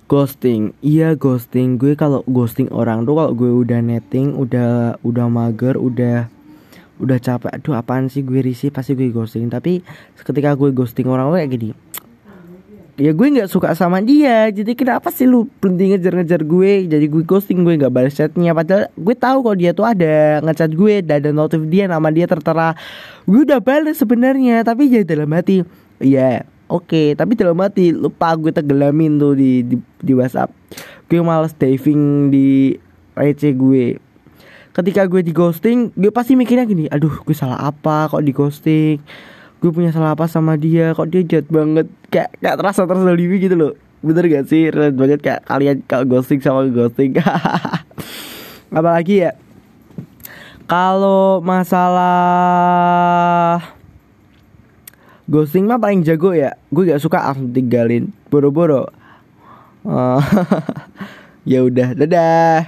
Ghosting, iya ghosting. Gue kalau ghosting orang tuh kalau gue udah netting, udah mager, udah capek. Aduh apaan sih gue risih, pasti gue ghosting. Tapi ketika gue ghosting orang tuh kayak gini, ya gue nggak suka sama dia. Jadi kenapa sih lu berhenti ngejar-ngejar gue? Jadi gue ghosting, gue nggak balas chatnya. Padahal gue tahu kalau dia tuh ada ngechat gue, ada notif dia, nama dia tertera. Gue udah balas sebenarnya, tapi jadi dalam hati, ya oke, tapi dalam hati lupa gue tenggelamin tuh di WhatsApp. Gue males diving di receh gue. Ketika gue di ghosting, gue pasti mikirnya gini, aduh gue salah apa kok di ghosting? Gue punya salah apa sama dia? Kok dia jahat banget? Kayak terasa terzalimi gitu loh. Bener gak sih? Relate banget kayak kalian kalau ghosting sama ghosting. Apalagi ya, kalau masalah ghosting mah paling jago ya. Gue gak suka langsung tinggalin, boro-boro. Ya udah, dadah.